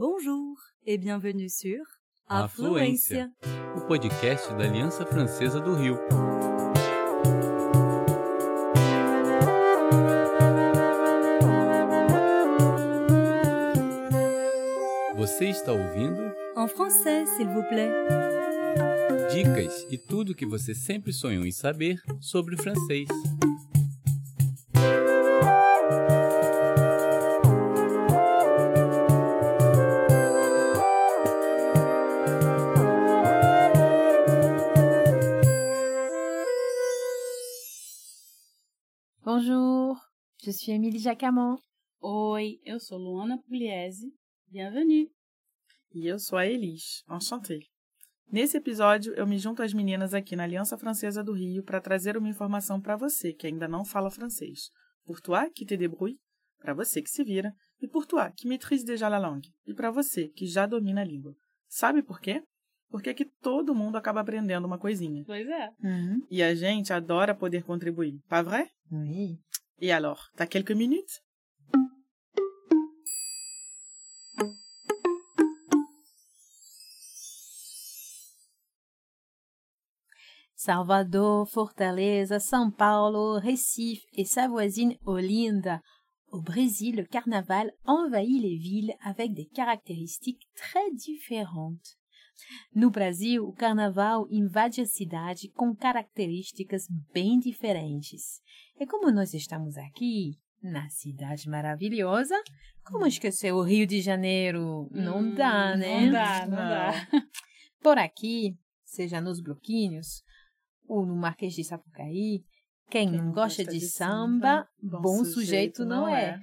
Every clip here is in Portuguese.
Bonjour et bienvenue sur Afluência, o podcast da Aliança Francesa do Rio. Você está ouvindo? En français, s'il vous plaît. Dicas e tudo o que você sempre sonhou em saber sobre francês. Bonjour, je suis Émilie Jacamon. Oi, eu sou Luana Pugliese. Bienvenue. E eu sou a Elis. Enchantée. Nesse episódio, eu me junto às meninas aqui na Aliança Francesa do Rio para trazer uma informação para você que ainda não fala francês. Pour toi qui te débrouille, para você que se vira, e pour toi qui maîtrise déjà la langue, e para você que já domina a língua. Sabe por quê? Porque aqui todo mundo acaba aprendendo uma coisinha. Pois é. E a gente adora poder contribuir, pas vrai? Oui. Et alors, t'as quelques minutes? Salvador, Fortaleza, São Paulo, Recife et sa voisine Olinda. Au Brésil, le carnaval envahit les villes avec des caractéristiques très différentes. No Brasil, o carnaval invade a cidade com características bem diferentes. E como nós estamos aqui, na cidade maravilhosa, como esquecer o Rio de Janeiro? Não dá, né? Não dá. Por aqui, seja nos bloquinhos ou no Marquês de Sapucaí, quem não gosta de samba, bom sujeito não é.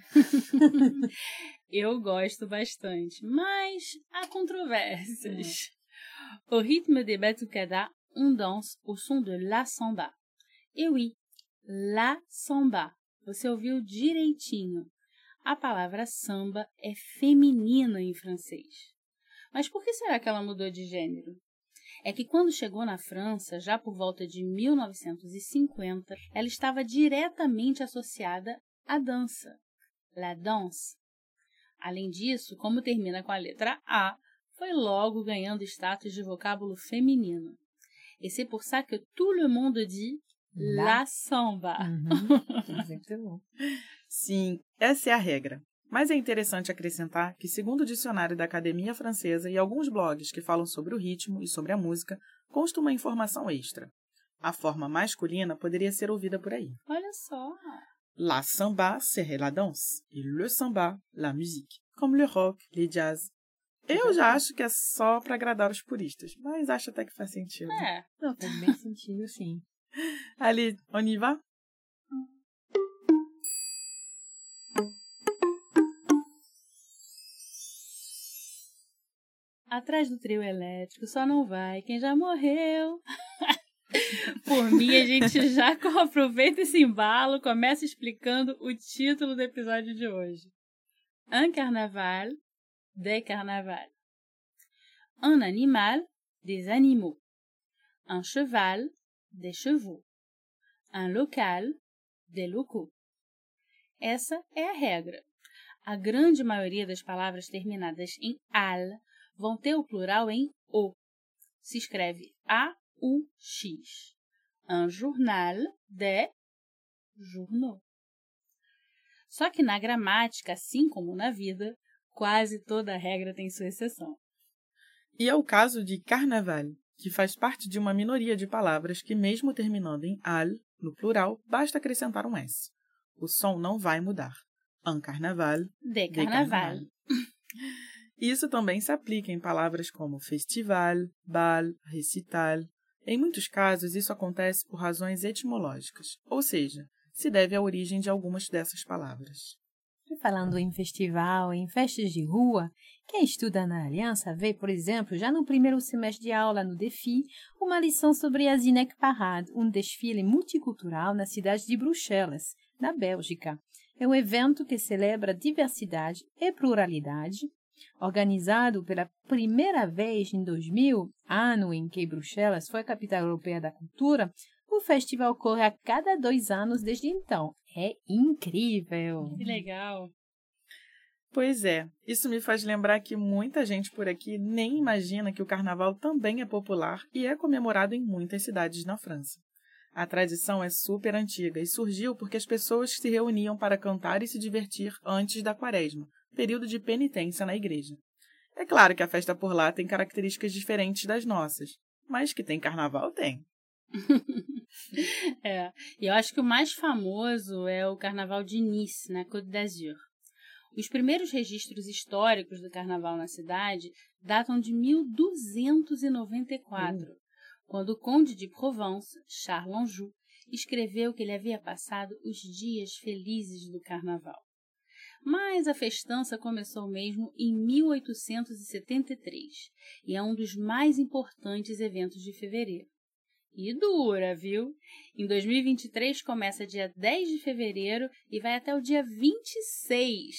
Eu gosto bastante, mas há controvérsias. Au rythme des batucadas, on danse au son de la samba. Et oui, la samba. Você ouviu direitinho. A palavra samba é feminina em francês. Mas por que será que ela mudou de gênero? É que quando chegou na França, já por volta de 1950, ela estava diretamente associada à dança, la danse. Além disso, como termina com a letra A, foi logo ganhando status de vocábulo feminino. Et c'est pour ça que tout le monde dit la samba. Exatamente. Sim, essa é a regra. Mas é interessante acrescentar que, segundo o dicionário da Academia Francesa e alguns blogs que falam sobre o ritmo e sobre a música, consta uma informação extra. A forma masculina poderia ser ouvida por aí. Olha só! La samba serait la danse e le samba, la musique, comme le rock, le jazz. Eu já acho que é só para agradar os puristas, mas acho até que faz sentido. É. Não, faz bem sentido, sim. Allez, on y va? Atrás do trio elétrico só não vai quem já morreu. Por mim, a gente já aproveita esse embalo, começa explicando o título do episódio de hoje. Un carnaval, des carnavals. Un animal, des animaux. Un cheval, des chevaux. Un local, des locaux. Essa é a regra. A grande maioria das palavras terminadas em al vão ter o plural em o. Se escreve A-U-X. Un journal, des journaux. Só que na gramática, assim como na vida, quase toda regra tem sua exceção. E é o caso de carnaval, que faz parte de uma minoria de palavras que, mesmo terminando em al, no plural, basta acrescentar um S. O som não vai mudar. Un carnaval, De carnaval. Isso também se aplica em palavras como festival, bal, recital. Em muitos casos, isso acontece por razões etimológicas, ou seja, se deve à origem de algumas dessas palavras. Falando em festival, em festas de rua, quem estuda na Aliança vê, por exemplo, já no primeiro semestre de aula no DEFI, uma lição sobre a Zinec Parade, um desfile multicultural na cidade de Bruxelas, na Bélgica. É um evento que celebra diversidade e pluralidade. Organizado pela primeira vez em 2000, ano em que Bruxelas foi a capital europeia da cultura, o festival ocorre a cada 2 anos desde então. É incrível! Que legal! Pois é, isso me faz lembrar que muita gente por aqui nem imagina que o carnaval também é popular e é comemorado em muitas cidades na França. A tradição é super antiga e surgiu porque as pessoas se reuniam para cantar e se divertir antes da Quaresma, período de penitência na igreja. É claro que a festa por lá tem características diferentes das nossas, mas que tem carnaval, tem. E eu acho que o mais famoso é o Carnaval de Nice, na Côte d'Azur. Os primeiros registros históricos do carnaval na cidade datam de 1294, quando o conde de Provence, Charles Anjou, escreveu que ele havia passado os dias felizes do carnaval. Mas a festança começou mesmo em 1873 e é um dos mais importantes eventos de fevereiro. E dura, viu? Em 2023 começa dia 10 de fevereiro e vai até o dia 26.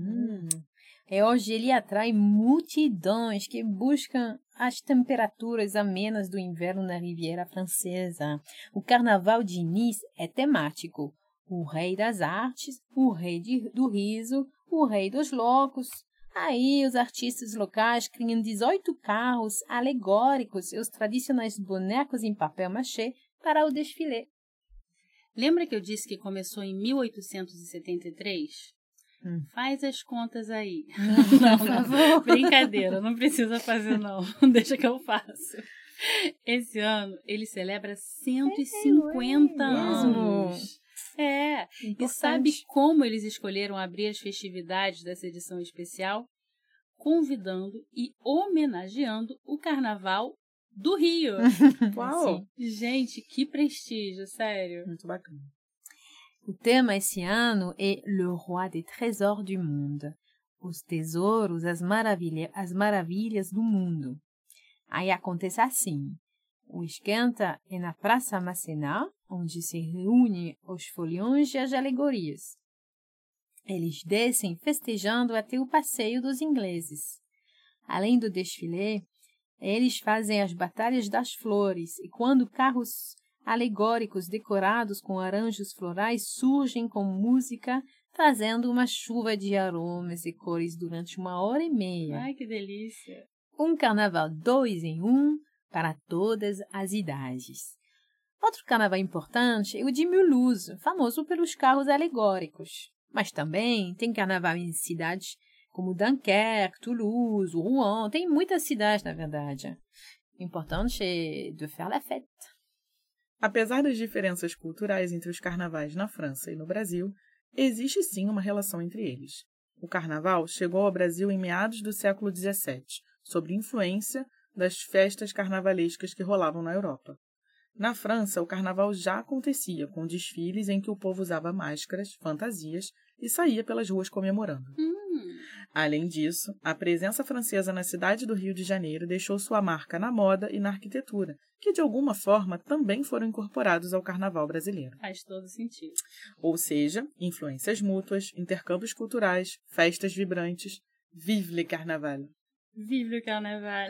Hoje ele atrai multidões que buscam as temperaturas amenas do inverno na Riviera Francesa. O Carnaval de Nice é temático. O rei das artes, o rei do riso, o rei dos loucos. Aí os artistas locais criam 18 carros alegóricos e os tradicionais bonecos em papel machê para o desfile. Lembra que eu disse que começou em 1873? Faz as contas aí. Não, por favor. Brincadeira, não precisa fazer não. Deixa que eu faço. Esse ano ele celebra 150 anos. E sabe como eles escolheram abrir as festividades dessa edição especial? Convidando e homenageando o Carnaval do Rio. Uau! Gente, que prestígio, sério. Muito bacana. O tema esse ano é Le Roi des Trésors du Monde. Os tesouros, as maravilhas do mundo. Aí acontece assim. O esquenta é na Praça Masséna, onde se reúnem os foliões e as alegorias. Eles descem festejando até o passeio dos ingleses. Além do desfile, eles fazem as batalhas das flores e quando carros alegóricos decorados com arranjos florais surgem com música, trazendo uma chuva de aromas e cores durante 1h30. Ai, que delícia! Um carnaval 2 em 1 para todas as idades. Outro carnaval importante é o de Mulhouse, famoso pelos carros alegóricos. Mas também tem carnaval em cidades como Dunkerque, Toulouse, Rouen. Tem muitas cidades, na verdade. O importante é de faire la fête. Apesar das diferenças culturais entre os carnavais na França e no Brasil, existe sim uma relação entre eles. O carnaval chegou ao Brasil em meados do século XVII, sob influência das festas carnavalescas que rolavam na Europa. Na França, o carnaval já acontecia, com desfiles em que o povo usava máscaras, fantasias e saía pelas ruas comemorando. Além disso, a presença francesa na cidade do Rio de Janeiro deixou sua marca na moda e na arquitetura, que de alguma forma também foram incorporados ao carnaval brasileiro. Faz todo sentido. Ou seja, influências mútuas, intercâmbios culturais, festas vibrantes. Vive le carnaval! Vive le carnaval!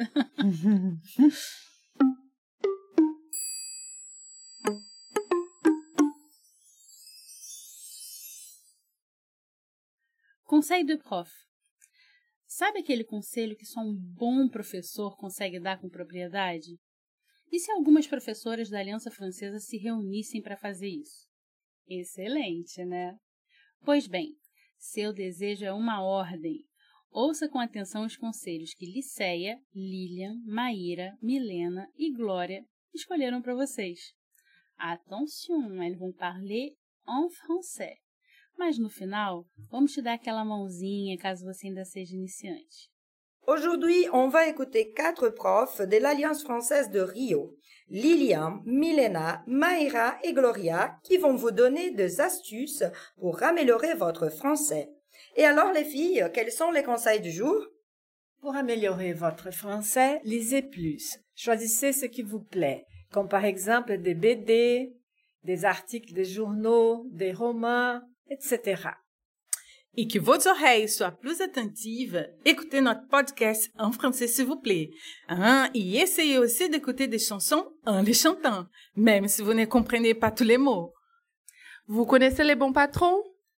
Conseil de prof. Sabe aquele conselho que só um bom professor consegue dar com propriedade? E se algumas professoras da Aliança Francesa se reunissem para fazer isso? Excelente, né? Pois bem, seu desejo é uma ordem. Ouça com atenção os conselhos que Liceia, Lilian, Maíra, Milena e Glória escolheram para vocês. Attention, elles vont parler en français. Mas no final, vamos te dar aquela mãozinha caso você ainda seja iniciante. Aujourd'hui, on va écouter 4 profs de l'Alliance française de Rio, Lilian, Milena, Maïra et Gloria, qui vont vous donner des astuces pour améliorer votre français. Et alors les filles, quels sont les conseils du jour? Pour améliorer votre français, lisez plus. Choisissez ce qui vous plaît, comme par exemple des BD, des articles de journaux, des romans, etc. Et que votre oreille soit plus attentive, écoutez notre podcast en français s'il vous plaît. Et essayez aussi d'écouter des chansons en les chantant, même si vous ne comprenez pas tous les mots. Vous connaissez les bons patrons?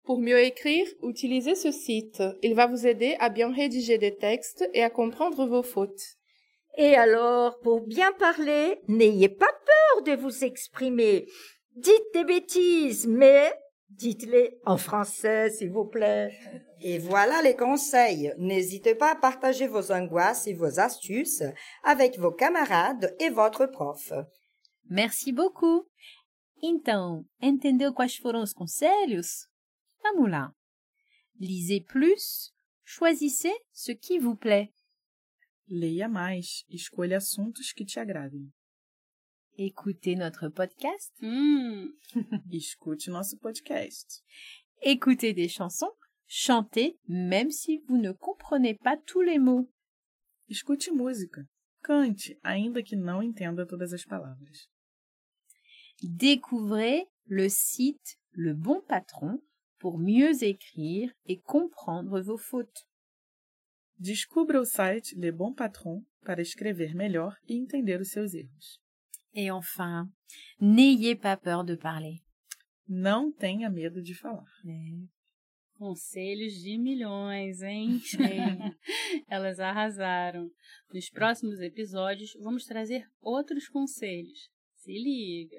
Pour mieux écrire, utilisez ce site. Il va vous aider à bien rédiger des textes et à comprendre vos fautes. Et alors, pour bien parler, n'ayez pas peur de vous exprimer. Dites des bêtises, mais dites-les en français, s'il vous plaît. Et voilà les conseils. N'hésitez pas à partager vos angoisses et vos astuces avec vos camarades et votre prof. Merci beaucoup. Então, entendeu quais foram os conselhos? Vamos lá. Lisez plus, choisissez ce qui vous plaît. Leia mais, escolha assuntos que te agradem. Écoutez notre podcast. Escute nosso podcast. Écoutez des chansons. Chantez même si vous ne comprenez pas tous les mots. Escute música. Cante, ainda que não entenda todas as palavras. Découvrez le site Le Bon Patron pour mieux écrire et comprendre vos fautes. Descubra o site Le Bon Patron para escrever melhor e entender os seus erros. Et enfin, n'ayez pas peur de parler. Não tenha medo de falar. Conselhos de milhões, hein? Elas arrasaram. Nos próximos episódios, vamos trazer outros conselhos. Se liga!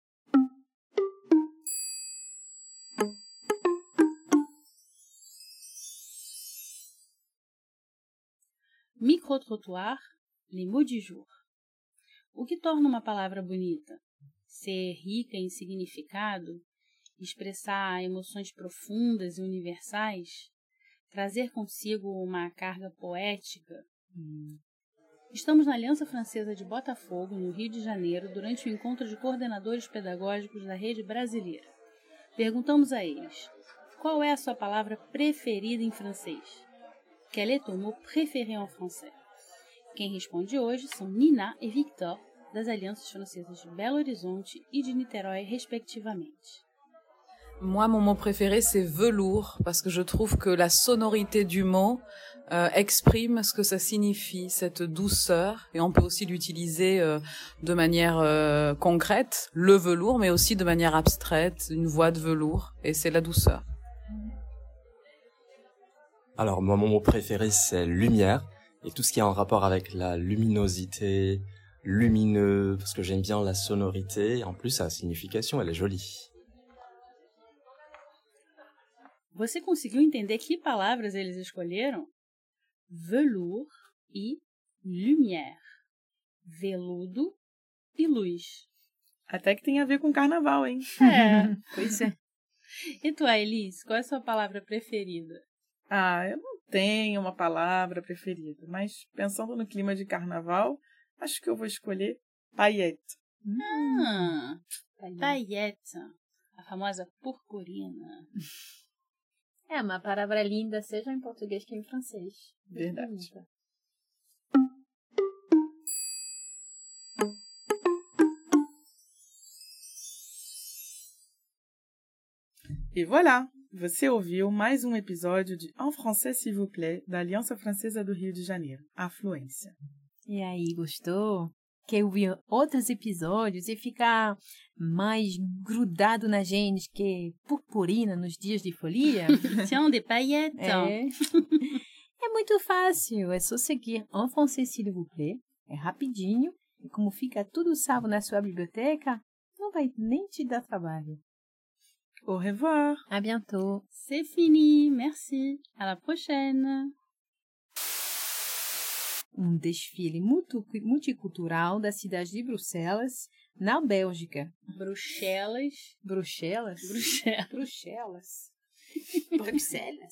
Micro-trottoir, les mots du jour. O que torna uma palavra bonita? Ser rica em significado? Expressar emoções profundas e universais? Trazer consigo uma carga poética? Estamos na Aliança Francesa de Botafogo, no Rio de Janeiro, durante o encontro de coordenadores pedagógicos da rede brasileira. Perguntamos a eles, qual é a sua palavra preferida em francês? Quel est ton mot préféré en français? Quem responde hoje são Nina e Victor, das Alianças Francesas de Belo Horizonte e de Niterói, respectivamente. Moi, mon mot préféré, c'est velours, parce que je trouve que la sonorité du mot exprime ce que ça signifie, cette douceur. Et on peut aussi l'utiliser de manière concrète, le velours, mais aussi de manière abstraite, une voix de velours. Et c'est la douceur. Alors, moi, mon mot préféré, c'est lumière. Et tout ce qui est en rapport avec la luminosité, lumineux, parce que j'aime bien la sonorité. En plus, sa signification, elle est jolie. Você conseguiu entender que palavras eles escolheram? Velours e lumière. Veludo e luz. Até que tem a ver com carnaval, hein? Pois é. E tu, Elise, qual é a sua palavra preferida? Eu não tenho uma palavra preferida, mas pensando no clima de carnaval, acho que eu vou escolher paillette. Paillette. A famosa purpurina. É uma palavra linda, seja em português que em francês. Verdade. E voilà! Você ouviu mais um episódio de En Français, s'il vous plaît, da Aliança Francesa do Rio de Janeiro, a Fluência. E aí, gostou? Quer ouvir outros episódios e ficar mais grudado na gente que purpurina nos dias de folia? Tiens, des paillettes! É muito fácil, é só seguir En Français, s'il vous plaît. É rapidinho e como fica tudo salvo na sua biblioteca, não vai nem te dar trabalho. Au revoir. À bientôt. C'est fini. Merci. À la prochaine. Desfile multicultural da cidade de Bruxelas, na Bélgica. Bruxelas. Bruxelas? Bruxelas. Bruxelas.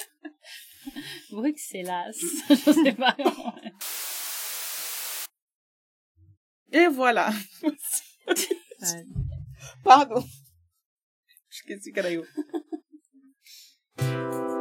Bruxelas. Je sais pas. Et voilà. Pardon. Esqueci que era eu.